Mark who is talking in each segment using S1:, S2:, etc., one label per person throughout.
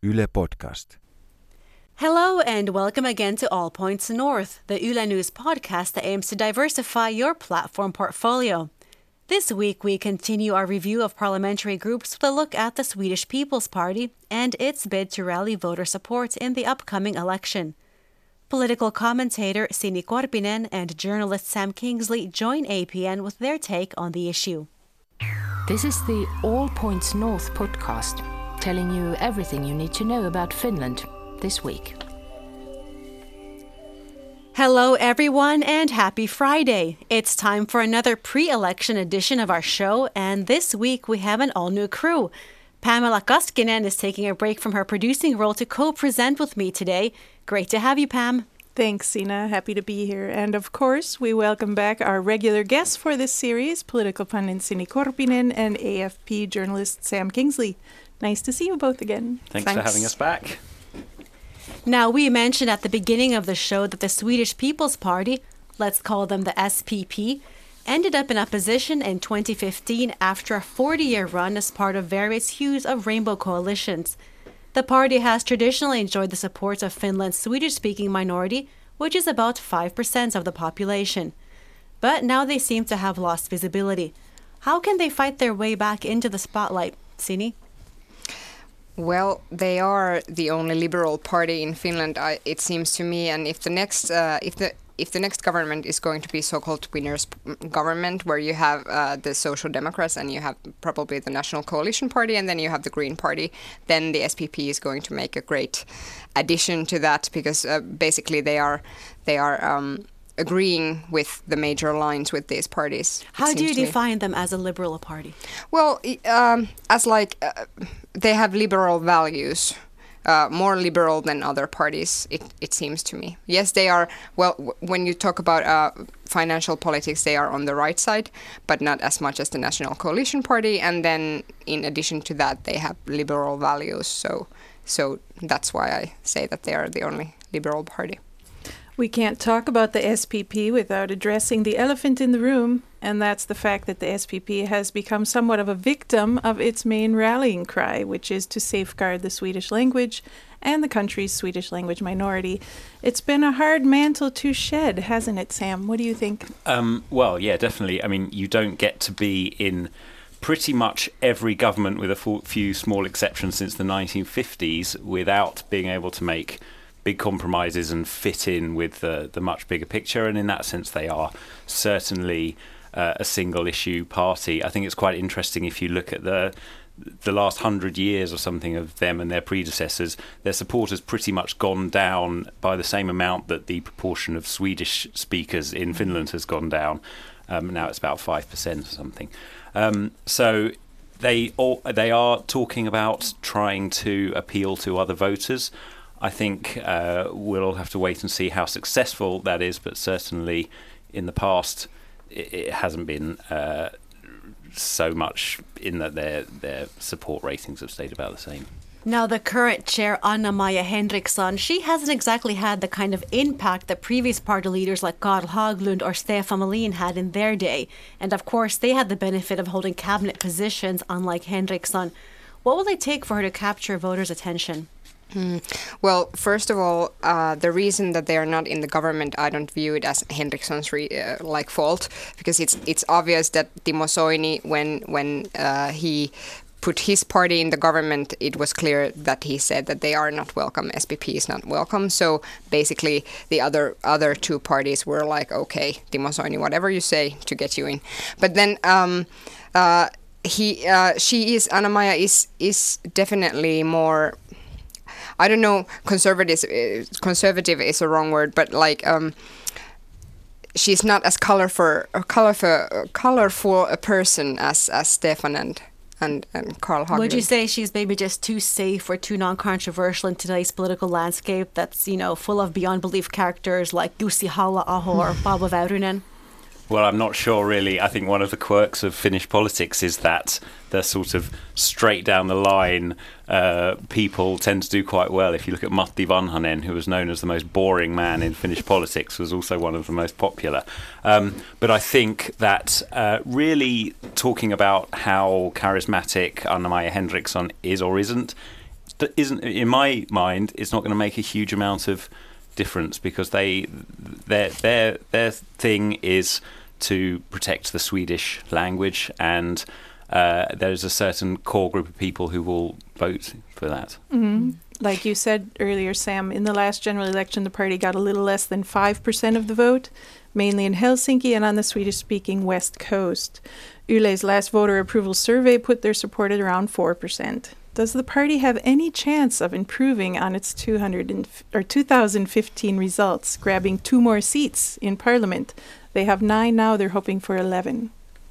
S1: Yle Podcast.
S2: Hello and welcome again to All Points North, the Yle News podcast that aims to diversify your platform portfolio. This week we continue our review of parliamentary groups with a look at the Swedish People's Party and its bid to rally voter support in the upcoming election. Political commentator Sini Korpinen and journalist Sam Kingsley join APN with their take on the issue.
S3: This is the All Points North podcast, telling you everything you need to know about Finland this week.
S2: Hello everyone and happy Friday. It's time for another pre-election edition of our show, and this week we have an all-new crew. Pamela Kaskinen is taking a break from her producing role to co-present with me today. Great to have you, Pam.
S4: Thanks, Sina. Happy to be here. And of course, we welcome back our regular guests for this series, political pundit Sini Korpinen and AFP journalist Sam Kingsley. Nice to see you both again.
S5: Thanks for having us back.
S2: Now, we mentioned at the beginning of the show that the Swedish People's Party, let's call them the SPP, ended up in opposition in 2015 after a 40-year run as part of various hues of rainbow coalitions. The party has traditionally enjoyed the support of Finland's Swedish-speaking minority, which is about 5% of the population. But now they seem to have lost visibility. How can they fight their way back into the spotlight? Sini?
S6: Well, they are the only liberal party in Finland, it seems to me. And if the next government is going to be so-called winners' government, where you have the Social Democrats and you have probably the National Coalition Party and then you have the Green Party, then the SPP is going to make a great addition to that, because basically they are agreeing with the major lines with these parties.
S2: How do you define them as a liberal party?
S6: Well, they have liberal values. More liberal than other parties, it seems to me. Yes, they are, when you talk about financial politics, they are on the right side, but not as much as the National Coalition Party. And then in addition to that, they have liberal values. So that's why I say that they are the only liberal party.
S4: We can't talk about the SPP without addressing the elephant in the room, and that's the fact that the SPP has become somewhat of a victim of its main rallying cry, which is to safeguard the Swedish language and the country's Swedish language minority. It's been a hard mantle to shed, hasn't it, Sam? What do you think?
S5: Well, yeah, definitely. I mean, you don't get to be in pretty much every government, with a few small exceptions since the 1950s, without being able to make big compromises and fit in with the much bigger picture. And in that sense, they are certainly a single issue party. I think it's quite interesting if you look at the last 100 years or something of them and their predecessors. Their support has pretty much gone down by the same amount that the proportion of Swedish speakers in Finland has gone down. Now it's about 5% or something. So they are talking about trying to appeal to other voters. I think we'll all have to wait and see how successful that is, but certainly in the past it hasn't been so much, in that their support ratings have stayed about the same.
S2: Now, the current chair, Anna-Maja Henriksson, she hasn't exactly had the kind of impact that previous party leaders like Carl Haglund or Stefan Melin had in their day. And of course, they had the benefit of holding cabinet positions, unlike Henriksson. What will it take for her to capture voters' attention?
S6: Well, first of all, the reason that they are not in the government, I don't view it as Henriksson's fault, because it's obvious that Timo Soini, when he put his party in the government, it was clear that he said that they are not welcome. SPP is not welcome. So basically, the other two parties were like, okay, Timo Soini, whatever you say to get you in. But then Anna-Maja is definitely more, I don't know, conservative is a wrong word, but she's not as colorful a person as Stefan and Carl Haglund.
S2: Would you say she's maybe just too safe or too non-controversial in today's political landscape that's, full of beyond belief characters like Jussi Halla-aho or Paavo Väyrynen?
S5: Well, I'm not sure, really. I think one of the quirks of Finnish politics is that the sort of straight down the line people tend to do quite well. If you look at Matti Vanhanen, who was known as the most boring man in Finnish politics, was also one of the most popular. But I think that really talking about how charismatic Anna-Maja Henriksson is or isn't isn't, in my mind, it's not going to make a huge amount of difference because their thing is to protect the Swedish language, and there's a certain core group of people who will vote for that.
S4: Mm-hmm. Like you said earlier, Sam, in the last general election, the party got a little less than 5% of the vote, mainly in Helsinki and on the Swedish-speaking West Coast. Yle's last voter approval survey put their support at around 4%. Does the party have any chance of improving on its 2015 results, grabbing 2 more seats in parliament? They have 9 now, they're hoping for 11.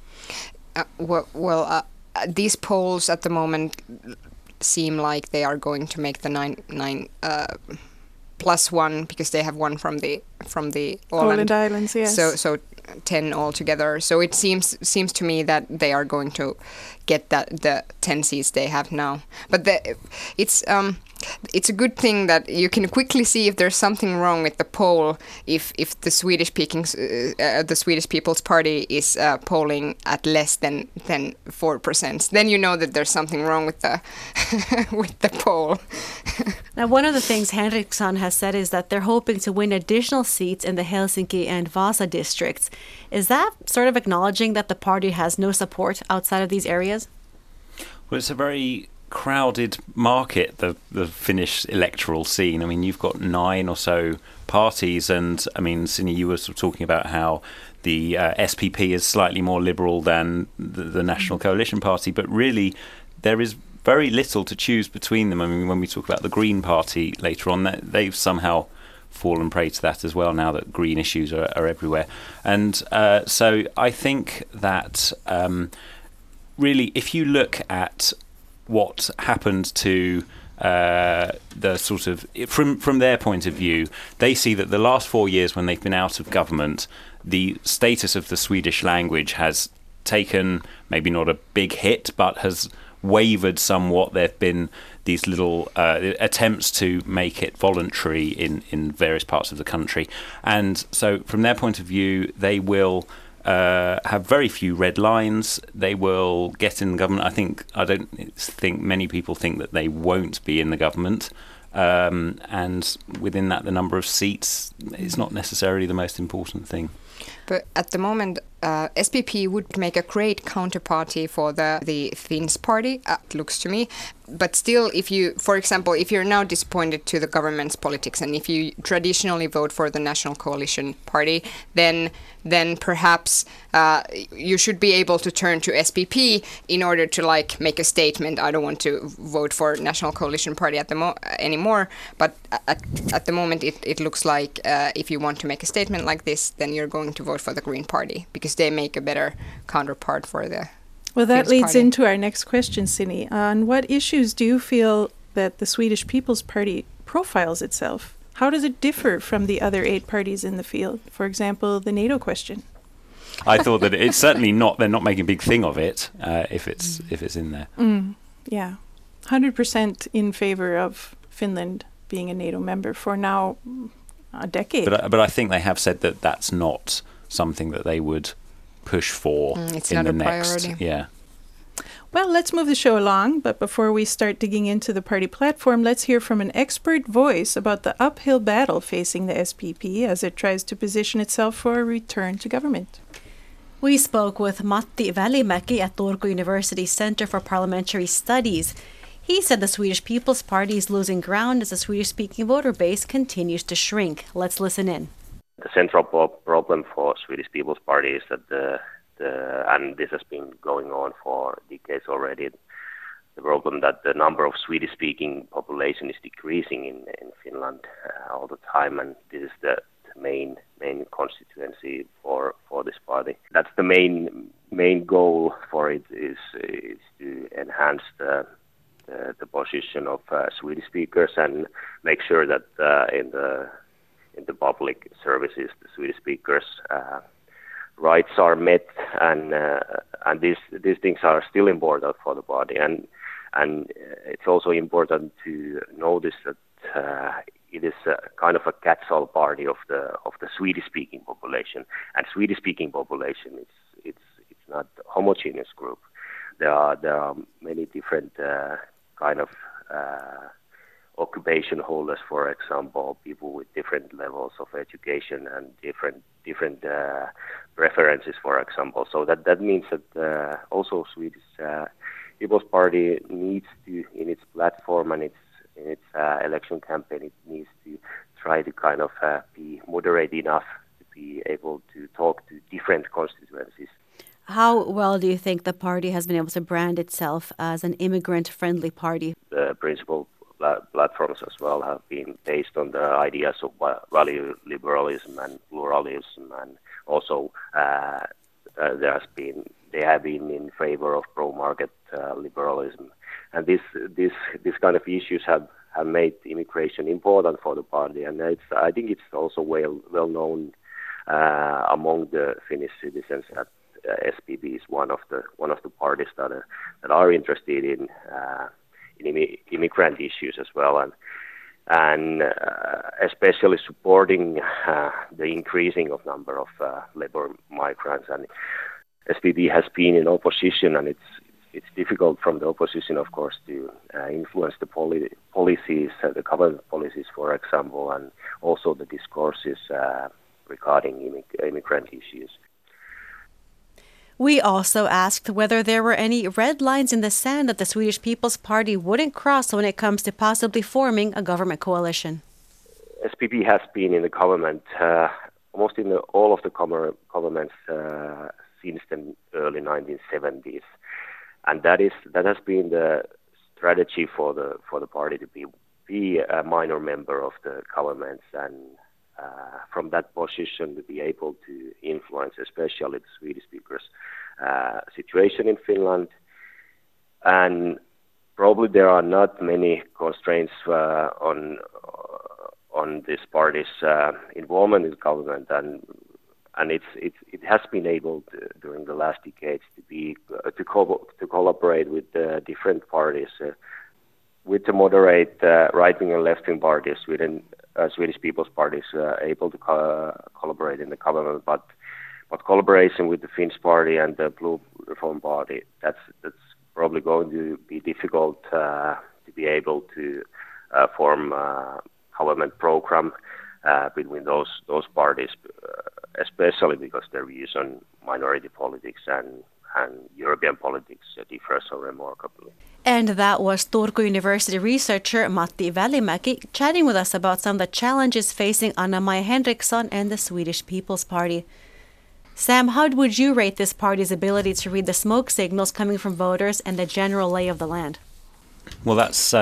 S6: These polls at the moment seem like they are going to make the 9 plus 1 because they have one from the
S4: Åland Islands, yes.
S6: So 10 altogether. So it seems to me that they are going to get the 10 seats they have now. But it's a good thing that you can quickly see if there's something wrong with the poll if the Swedish People's Party is polling at less than 4%. Then you know that there's something wrong with the with the poll.
S2: Now, one of the things Henriksson has said is that they're hoping to win additional seats in the Helsinki and Vasa districts. Is that sort of acknowledging that the party has no support outside of these areas?
S5: Well, it's a very crowded market, the Finnish electoral scene. I mean, you've got 9 or so parties, and I mean, Sini, you were sort of talking about how the SPP is slightly more liberal than the National Coalition Party, but really there is very little to choose between them. I mean, when we talk about the Green Party later on, they've somehow fallen prey to that as well now that green issues are everywhere. And so I think that really, if you look at what happened to the sort of, from their point of view, they see that the last 4 years when they've been out of government, the status of the Swedish language has taken maybe not a big hit, but has wavered somewhat. There have been these little attempts to make it voluntary in various parts of the country. And so from their point of view, they will have very few red lines. They will get in the government. I don't think many people think that they won't be in the government. And within that, the number of seats is not necessarily the most important thing.
S6: But at the moment, SPP would make a great counterparty for the Finns party, it looks to me. But still, if you're now disappointed to the government's politics, and if you traditionally vote for the National Coalition Party, then perhaps you should be able to turn to SPP in order to make a statement. I don't want to vote for National Coalition Party anymore. But at the moment, it looks like if you want to make a statement like this, then you're going to vote for the Green Party because they make a better counterpart for the.
S4: Well, that leads into our next question, Sini. On what issues do you feel that the Swedish People's Party profiles itself? How does it differ from the other 8 parties in the field? For example, the NATO question.
S5: I thought that it's certainly not. They're not making a big thing of it if it's in there.
S4: Yeah, 100% in favor of Finland being a NATO member for now a decade.
S5: But I think they have said that that's not something that they would push for
S6: it's
S5: in
S6: not
S5: the
S6: a
S5: next.
S6: priority.
S5: Yeah.
S4: Well, let's move the show along, but before we start digging into the party platform, let's hear from an expert voice about the uphill battle facing the SPP as it tries to position itself for a return to government.
S2: We spoke with Matti Välimäki at Turku University's Center for Parliamentary Studies. He said the Swedish People's Party is losing ground as the Swedish-speaking voter base continues to shrink. Let's listen in.
S1: The central problem for Swedish People's Party is that and this has been going on for decades already, the problem that the number of Swedish-speaking population is decreasing in Finland all the time, and this is the main constituency for this party. That's the main goal for it is to enhance the position of Swedish speakers and make sure that in the public services the Swedish speakers rights are met, and these things are still important for the party, and it's also important to notice that it is a kind of a catch-all party of the Swedish-speaking population, and Swedish-speaking population it's not a homogeneous group. There are many different kind of occupation holders, for example, people with different levels of education and different preferences, for example. So that means that also Swedish People's Party needs to, in its platform and in its election campaign, it needs to try to kind of be moderate enough to be able to talk to different constituencies.
S2: How well do you think the party has been able to brand itself as an immigrant-friendly party?
S1: The principal platforms as well have been based on the ideas of value liberalism and pluralism, and also they have been in favor of pro-market liberalism, and this kind of issues have made immigration important for the party, and I think it's also well known among the Finnish citizens that SPP is one of the parties that are interested in immigrant issues as well, and especially supporting the increasing of number of labor migrants. And SPP has been in opposition, and it's difficult from the opposition, of course, to influence the policies, the government policies, for example, and also the discourses regarding immigrant issues.
S2: We also asked whether there were any red lines in the sand that the Swedish People's Party wouldn't cross when it comes to possibly forming a government coalition.
S1: SPP has been in the government, almost in all of the governments since the early 1970s, and that has been the strategy for the party to be a minor member of the governments, and from that position to be able to influence especially the Swedish speakers' situation in Finland. And probably there are not many constraints on this party's involvement in government, and it has been able to, during the last decades to collaborate with different parties, with the moderate right-wing and left-wing parties within Swedish People's Party is able to collaborate in the government, but collaboration with the Finns Party and the Blue Reform Party, that's probably going to be difficult to be able to form a government program between those parties, especially because their views on minority politics and European politics differ so remarkably.
S2: And that was Turku University researcher Matti Välimäki chatting with us about some of the challenges facing Anna-Maja Henriksson and the Swedish People's Party. Sam, how would you rate this party's ability to read the smoke signals coming from voters and the general lay of the land?
S5: Well, that's,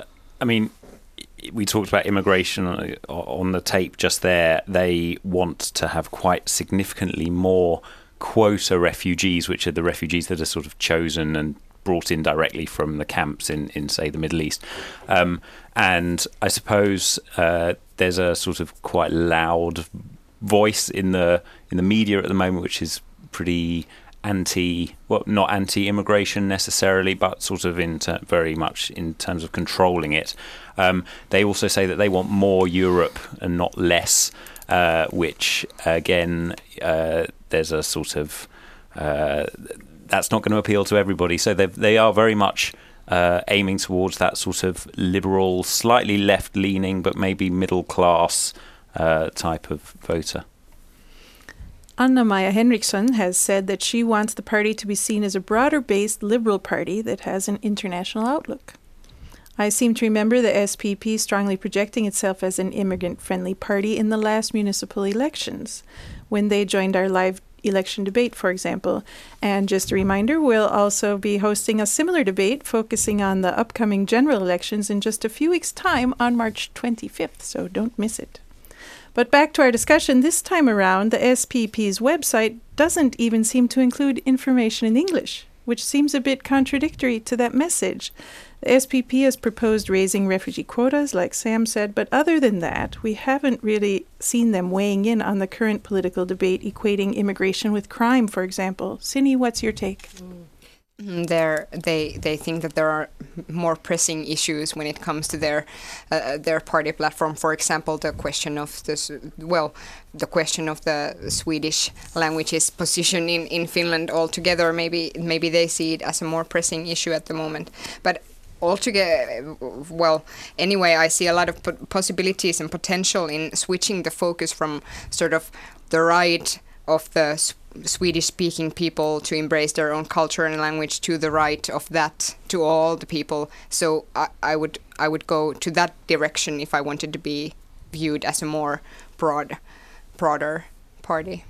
S5: we talked about immigration on the tape just there. They want to have quite significantly more quota refugees, which are the refugees that are sort of chosen and brought in directly from the camps in say, the Middle East. And I suppose there's a sort of quite loud voice in the media at the moment, which is pretty not anti-immigration necessarily, but sort of very much in terms of controlling it. They also say that they want more Europe and not less, which again, there's a sort of that's not going to appeal to everybody. So they are very much aiming towards that sort of liberal, slightly left-leaning, but maybe middle-class type of voter.
S4: Anna-Maja Henriksson has said that she wants the party to be seen as a broader-based liberal party that has an international outlook. I seem to remember the SPP strongly projecting itself as an immigrant-friendly party in the last municipal elections, when they joined our live election debate, for example. And just a reminder, we'll also be hosting a similar debate focusing on the upcoming general elections in just a few weeks' time on March 25th, so don't miss it. But back to our discussion, this time around, the SPP's website doesn't even seem to include information in English, which seems a bit contradictory to that message. The SPP has proposed raising refugee quotas, like Sam said, but other than that, we haven't really seen them weighing in on the current political debate equating immigration with crime, for example. Sini, what's your take?
S6: They think that there are more pressing issues when it comes to their party platform. For example, the question of the Swedish language's position in Finland altogether. Maybe they see it as a more pressing issue at the moment. But altogether, well, anyway, I see a lot of possibilities and potential in switching the focus from sort of the right of the Swedish-speaking people to embrace their own culture and language to the right of that to all the people. So I would go to that direction if I wanted to be viewed as a more broader party.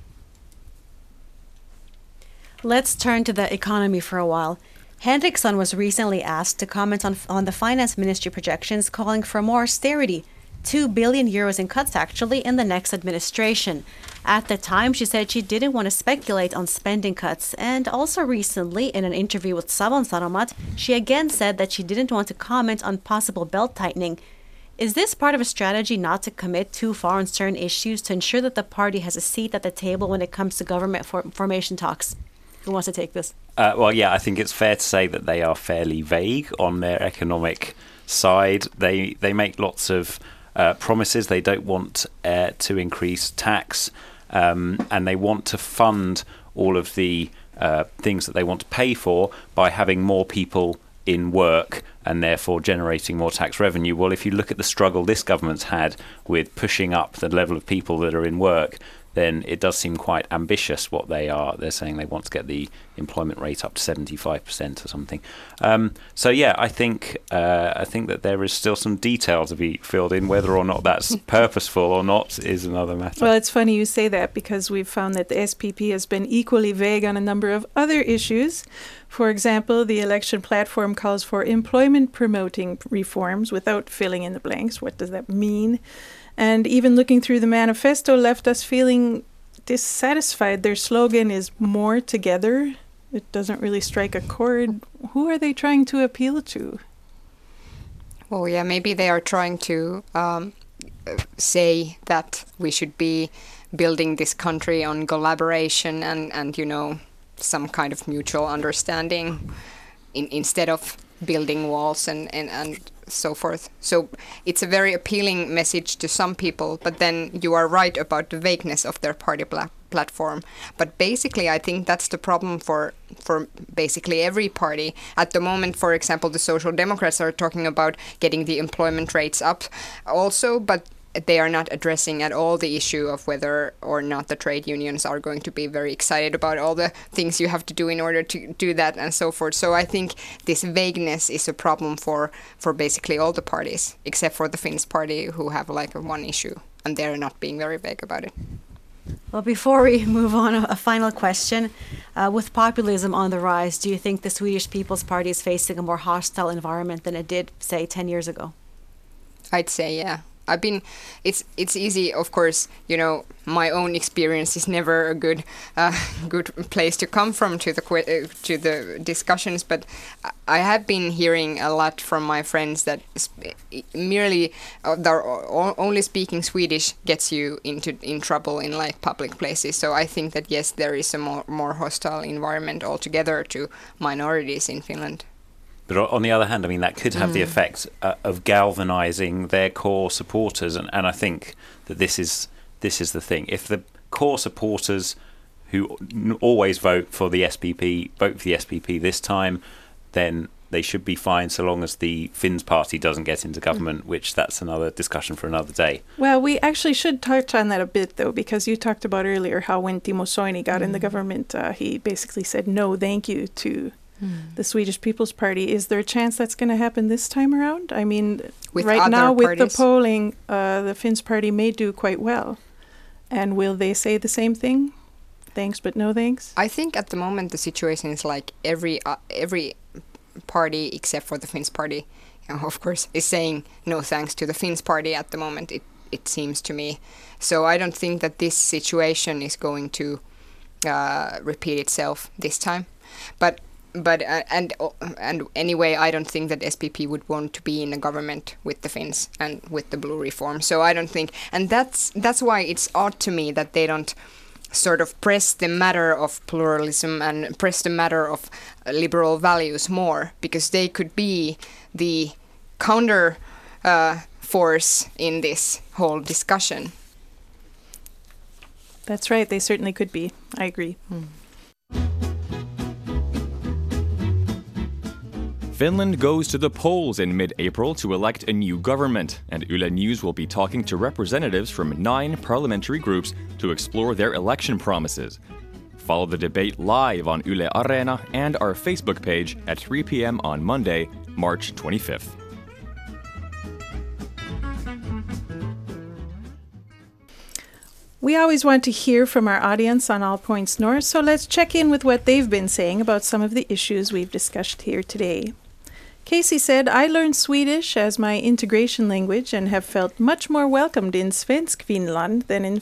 S2: Let's turn to the economy for a while. Henriksson was recently asked to comment on the finance ministry projections calling for more austerity, 2 billion euros in cuts actually in the next administration. At the time, she said she didn't want to speculate on spending cuts, and also recently in an interview with Savon Sanomat, she again said that she didn't want to comment on possible belt tightening. Is this part of a strategy not to commit too far on certain issues to ensure that the party has a seat at the table when it comes to government formation talks? Who wants to take this?
S5: Well, yeah, I think it's fair to say that they are fairly vague on their economic side. They make lots of promises. They don't want to increase tax, and they want to fund all of the things that they want to pay for by having more people in work and therefore generating more tax revenue. Well, if you look at the struggle this government's had with pushing up the level of people that are in work, then it does seem quite ambitious what they are. They're saying they want to get the employment rate up to 75% or something. So yeah, I think that there is still some detail to be filled in. Whether or not that's purposeful or not is another matter.
S4: Well, it's funny you say that because we've found that the SPP has been equally vague on a number of other issues. For example, the election platform calls for employment promoting reforms without filling in the blanks. What does that mean? And even looking through the manifesto left us feeling dissatisfied. Their slogan is more together. It doesn't really strike a chord. Who are they trying to appeal to?
S6: Well, yeah, maybe they are trying to say that we should be building this country on collaboration and you know, some kind of mutual understanding instead of building walls and so forth. So it's a very appealing message to some people, but then you are right about the vagueness of their party platform. But basically, I think that's the problem for basically every party. At the moment, for example, the Social Democrats are talking about getting the employment rates up also, but they are not addressing at all the issue of whether or not the trade unions are going to be very excited about all the things you have to do in order to do that and so forth. So I think this vagueness is a problem for basically all the parties, except for the Finns party, who have like one issue, and they're not being very vague about it.
S2: Well, before we move on, a final question. With populism on the rise, do you think the Swedish People's Party is facing a more hostile environment than it did, say, 10 years ago?
S6: I'd say, yeah. It's easy, of course, you know, my own experience is never a good place to come from to the discussions, but I have been hearing a lot from my friends that merely only speaking Swedish gets you in trouble in like public places. So I think that yes, there is a more hostile environment altogether to minorities in Finland.
S5: But on the other hand, I mean, that could have the effect of galvanizing their core supporters. And I think that this is the thing. If the core supporters who always vote for the SPP this time, then they should be fine so long as the Finns party doesn't get into government, which that's another discussion for another day.
S4: Well, we actually should touch on that a bit, though, because you talked about earlier how when Timo Soini got in the government, he basically said no thank you to the Swedish People's Party. Is there a chance that's going to happen this time around? I mean,
S6: with
S4: right now with
S6: parties?
S4: the polling, the Finns party may do quite well. And will they say the same thing? Thanks, but no thanks?
S6: I think at the moment the situation is like every party except for the Finns party, you know, of course, is saying no thanks to the Finns party at the moment, it seems to me. So I don't think that this situation is going to repeat itself this time. But anyway, I don't think that SPP would want to be in a government with the Finns and with the blue reform. So I don't think, and that's why it's odd to me that they don't sort of press the matter of pluralism and press the matter of liberal values more, because they could be the counter force in this whole discussion.
S4: That's right, they certainly could be. I agree.
S7: Finland goes to the polls in mid-April to elect a new government, and Yle News will be talking to representatives from 9 parliamentary groups to explore their election promises. Follow the debate live on Yle Areena and our Facebook page at 3 p.m. on Monday, March 25th.
S4: We always want to hear from our audience on All Points North, so let's check in with what they've been saying about some of the issues we've discussed here today. Casey said, I learned Swedish as my integration language and have felt much more welcomed in Svensk Finland than in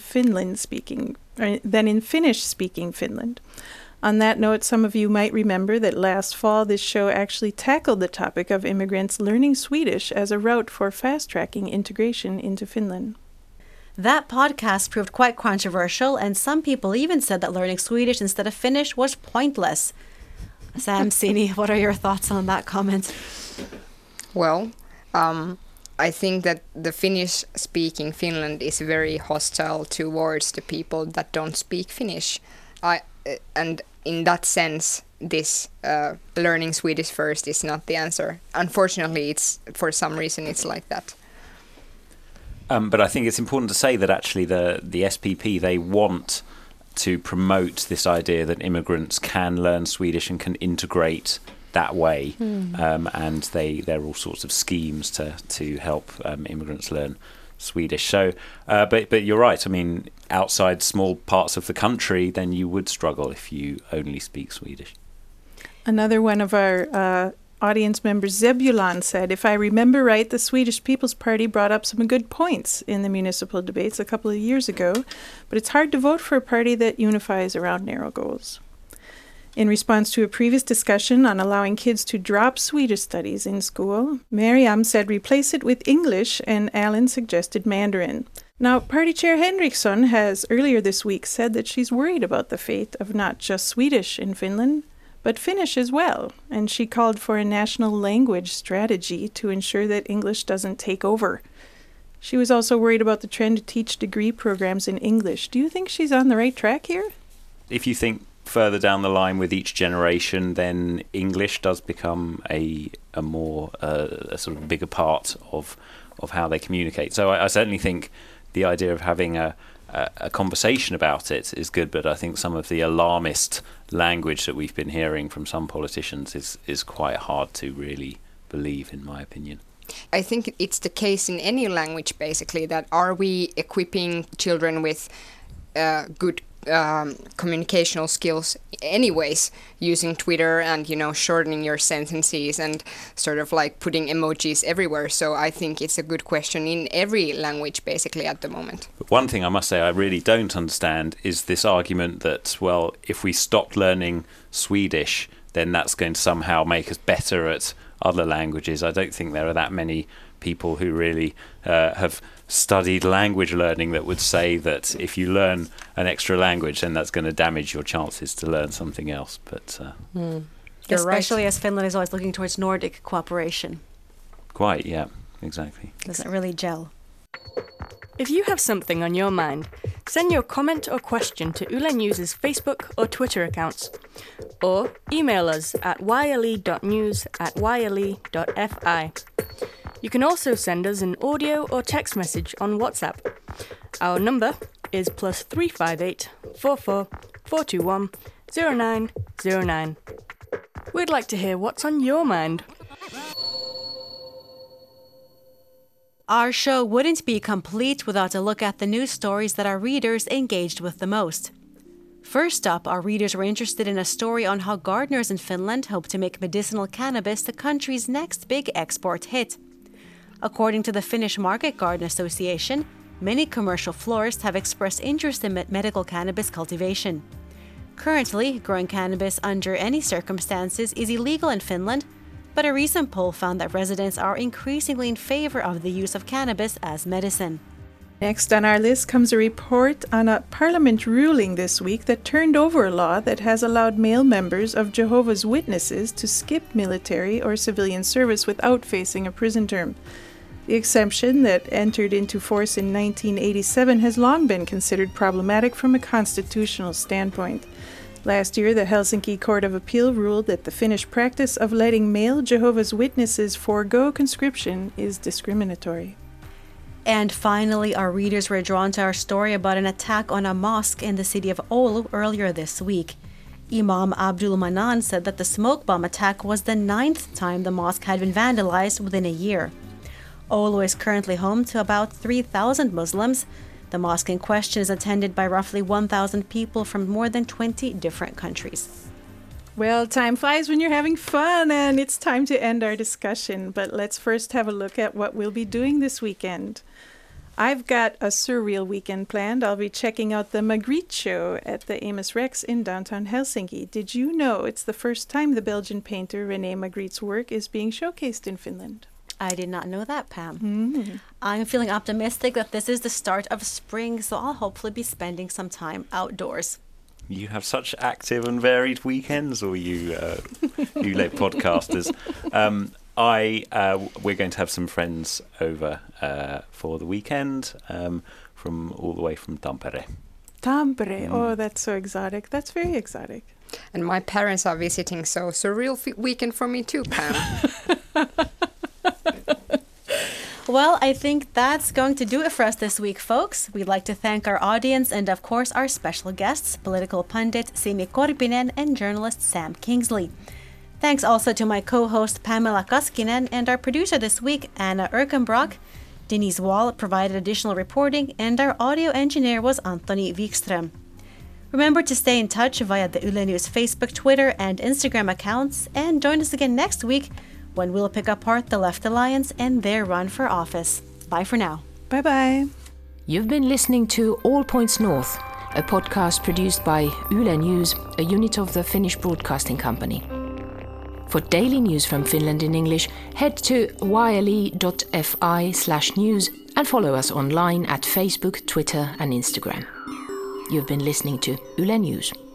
S4: Finnish-speaking Finland. On that note, some of you might remember that last fall this show actually tackled the topic of immigrants learning Swedish as a route for fast-tracking integration into Finland.
S2: That podcast proved quite controversial, and some people even said that learning Swedish instead of Finnish was pointless. Sam Sini, what are your thoughts on that comment?
S6: Well, I think that the Finnish-speaking Finland is very hostile towards the people that don't speak Finnish. And in that sense, this learning Swedish first is not the answer. Unfortunately, for some reason it's like that.
S5: But I think it's important to say that actually the SPP, they want to promote this idea that immigrants can learn Swedish and can integrate that way. And there are all sorts of schemes to help immigrants learn Swedish. So, but you're right. I mean, outside small parts of the country, then you would struggle if you only speak Swedish.
S4: Another one of our audience members, Zebulon, said, if I remember right, the Swedish People's Party brought up some good points in the municipal debates a couple of years ago, but it's hard to vote for a party that unifies around narrow goals. In response to a previous discussion on allowing kids to drop Swedish studies in school, Miriam said replace it with English, and Alan suggested Mandarin. Now, Party Chair Henriksson has earlier this week said that she's worried about the fate of not just Swedish in Finland, but Finnish as well, and she called for a national language strategy to ensure that English doesn't take over. She was also worried about the trend to teach degree programs in English. Do you think she's on the right track here?
S5: If you think further down the line with each generation, then English does become a more a sort of bigger part of how they communicate. So I certainly think the idea of having a conversation about it is good, but I think some of the alarmist language that we've been hearing from some politicians is quite hard to really believe, in my opinion.
S6: I think it's the case in any language, basically, that are we equipping children with good communicational skills anyways, using Twitter and, shortening your sentences and sort of like putting emojis everywhere. So I think it's a good question in every language basically at the moment.
S5: But one thing I must say I really don't understand is this argument that, well, if we stopped learning Swedish, then that's going to somehow make us better at other languages. I don't think there are that many people who really have studied language learning that would say that if you learn an extra language, then that's going to damage your chances to learn something else. But
S2: especially as Finland is always looking towards Nordic cooperation.
S5: Quite, yeah, exactly.
S2: Doesn't really gel.
S8: If you have something on your mind, send your comment or question to Yle News' Facebook or Twitter accounts, or email us at yle.news@yle.fi. You can also send us an audio or text message on WhatsApp. Our number is +358 44 421 0909. We'd like to hear what's on your mind.
S2: Our show wouldn't be complete without a look at the news stories that our readers engaged with the most. First up, our readers were interested in a story on how gardeners in Finland hope to make medicinal cannabis the country's next big export hit. According to the Finnish Market Garden Association, many commercial florists have expressed interest in medical cannabis cultivation. Currently, growing cannabis under any circumstances is illegal in Finland, but a recent poll found that residents are increasingly in favor of the use of cannabis as medicine.
S4: Next on our list comes a report on a parliament ruling this week that turned over a law that has allowed male members of Jehovah's Witnesses to skip military or civilian service without facing a prison term. The exemption that entered into force in 1987 has long been considered problematic from a constitutional standpoint. Last year, the Helsinki Court of Appeal ruled that the Finnish practice of letting male Jehovah's Witnesses forego conscription is discriminatory.
S2: And finally, our readers were drawn to our story about an attack on a mosque in the city of Oulu earlier this week. Imam Abdul Manan said that the smoke bomb attack was the 9th time the mosque had been vandalized within a year. Oulu is currently home to about 3,000 Muslims. The mosque in question is attended by roughly 1,000 people from more than 20 different countries.
S4: Well, time flies when you're having fun, and it's time to end our discussion. But let's first have a look at what we'll be doing this weekend. I've got a surreal weekend planned. I'll be checking out the Magritte show at the Amos Rex in downtown Helsinki. Did you know it's the first time the Belgian painter René Magritte's work is being showcased in Finland?
S2: I did not know that, Pam. I'm feeling optimistic that this is the start of spring, so I'll hopefully be spending some time outdoors.
S5: You have such active and varied weekends, or you late podcasters. We're going to have some friends over for the weekend from all the way from Tampere.
S4: Tampere, oh, that's so exotic. That's very exotic.
S6: And my parents are visiting, so surreal weekend for me too, Pam.
S2: Well, I think that's going to do it for us this week, folks. We'd like to thank our audience and, of course, our special guests, political pundit Simi Korpinen and journalist Sam Kingsley. Thanks also to my co-host Pamela Kaskinen and our producer this week, Anna Erkenbrock. Denise Wall provided additional reporting, and our audio engineer was Anthony Wikström. Remember to stay in touch via the Yle News Facebook, Twitter, and Instagram accounts, and join us again next week when we'll pick apart the Left Alliance and their run for office. Bye for now.
S4: Bye-bye.
S3: You've been listening to All Points North, a podcast produced by Yle News, a unit of the Finnish Broadcasting Company. For daily news from Finland in English, head to yle.fi/news and follow us online at Facebook, Twitter and Instagram. You've been listening to Yle News.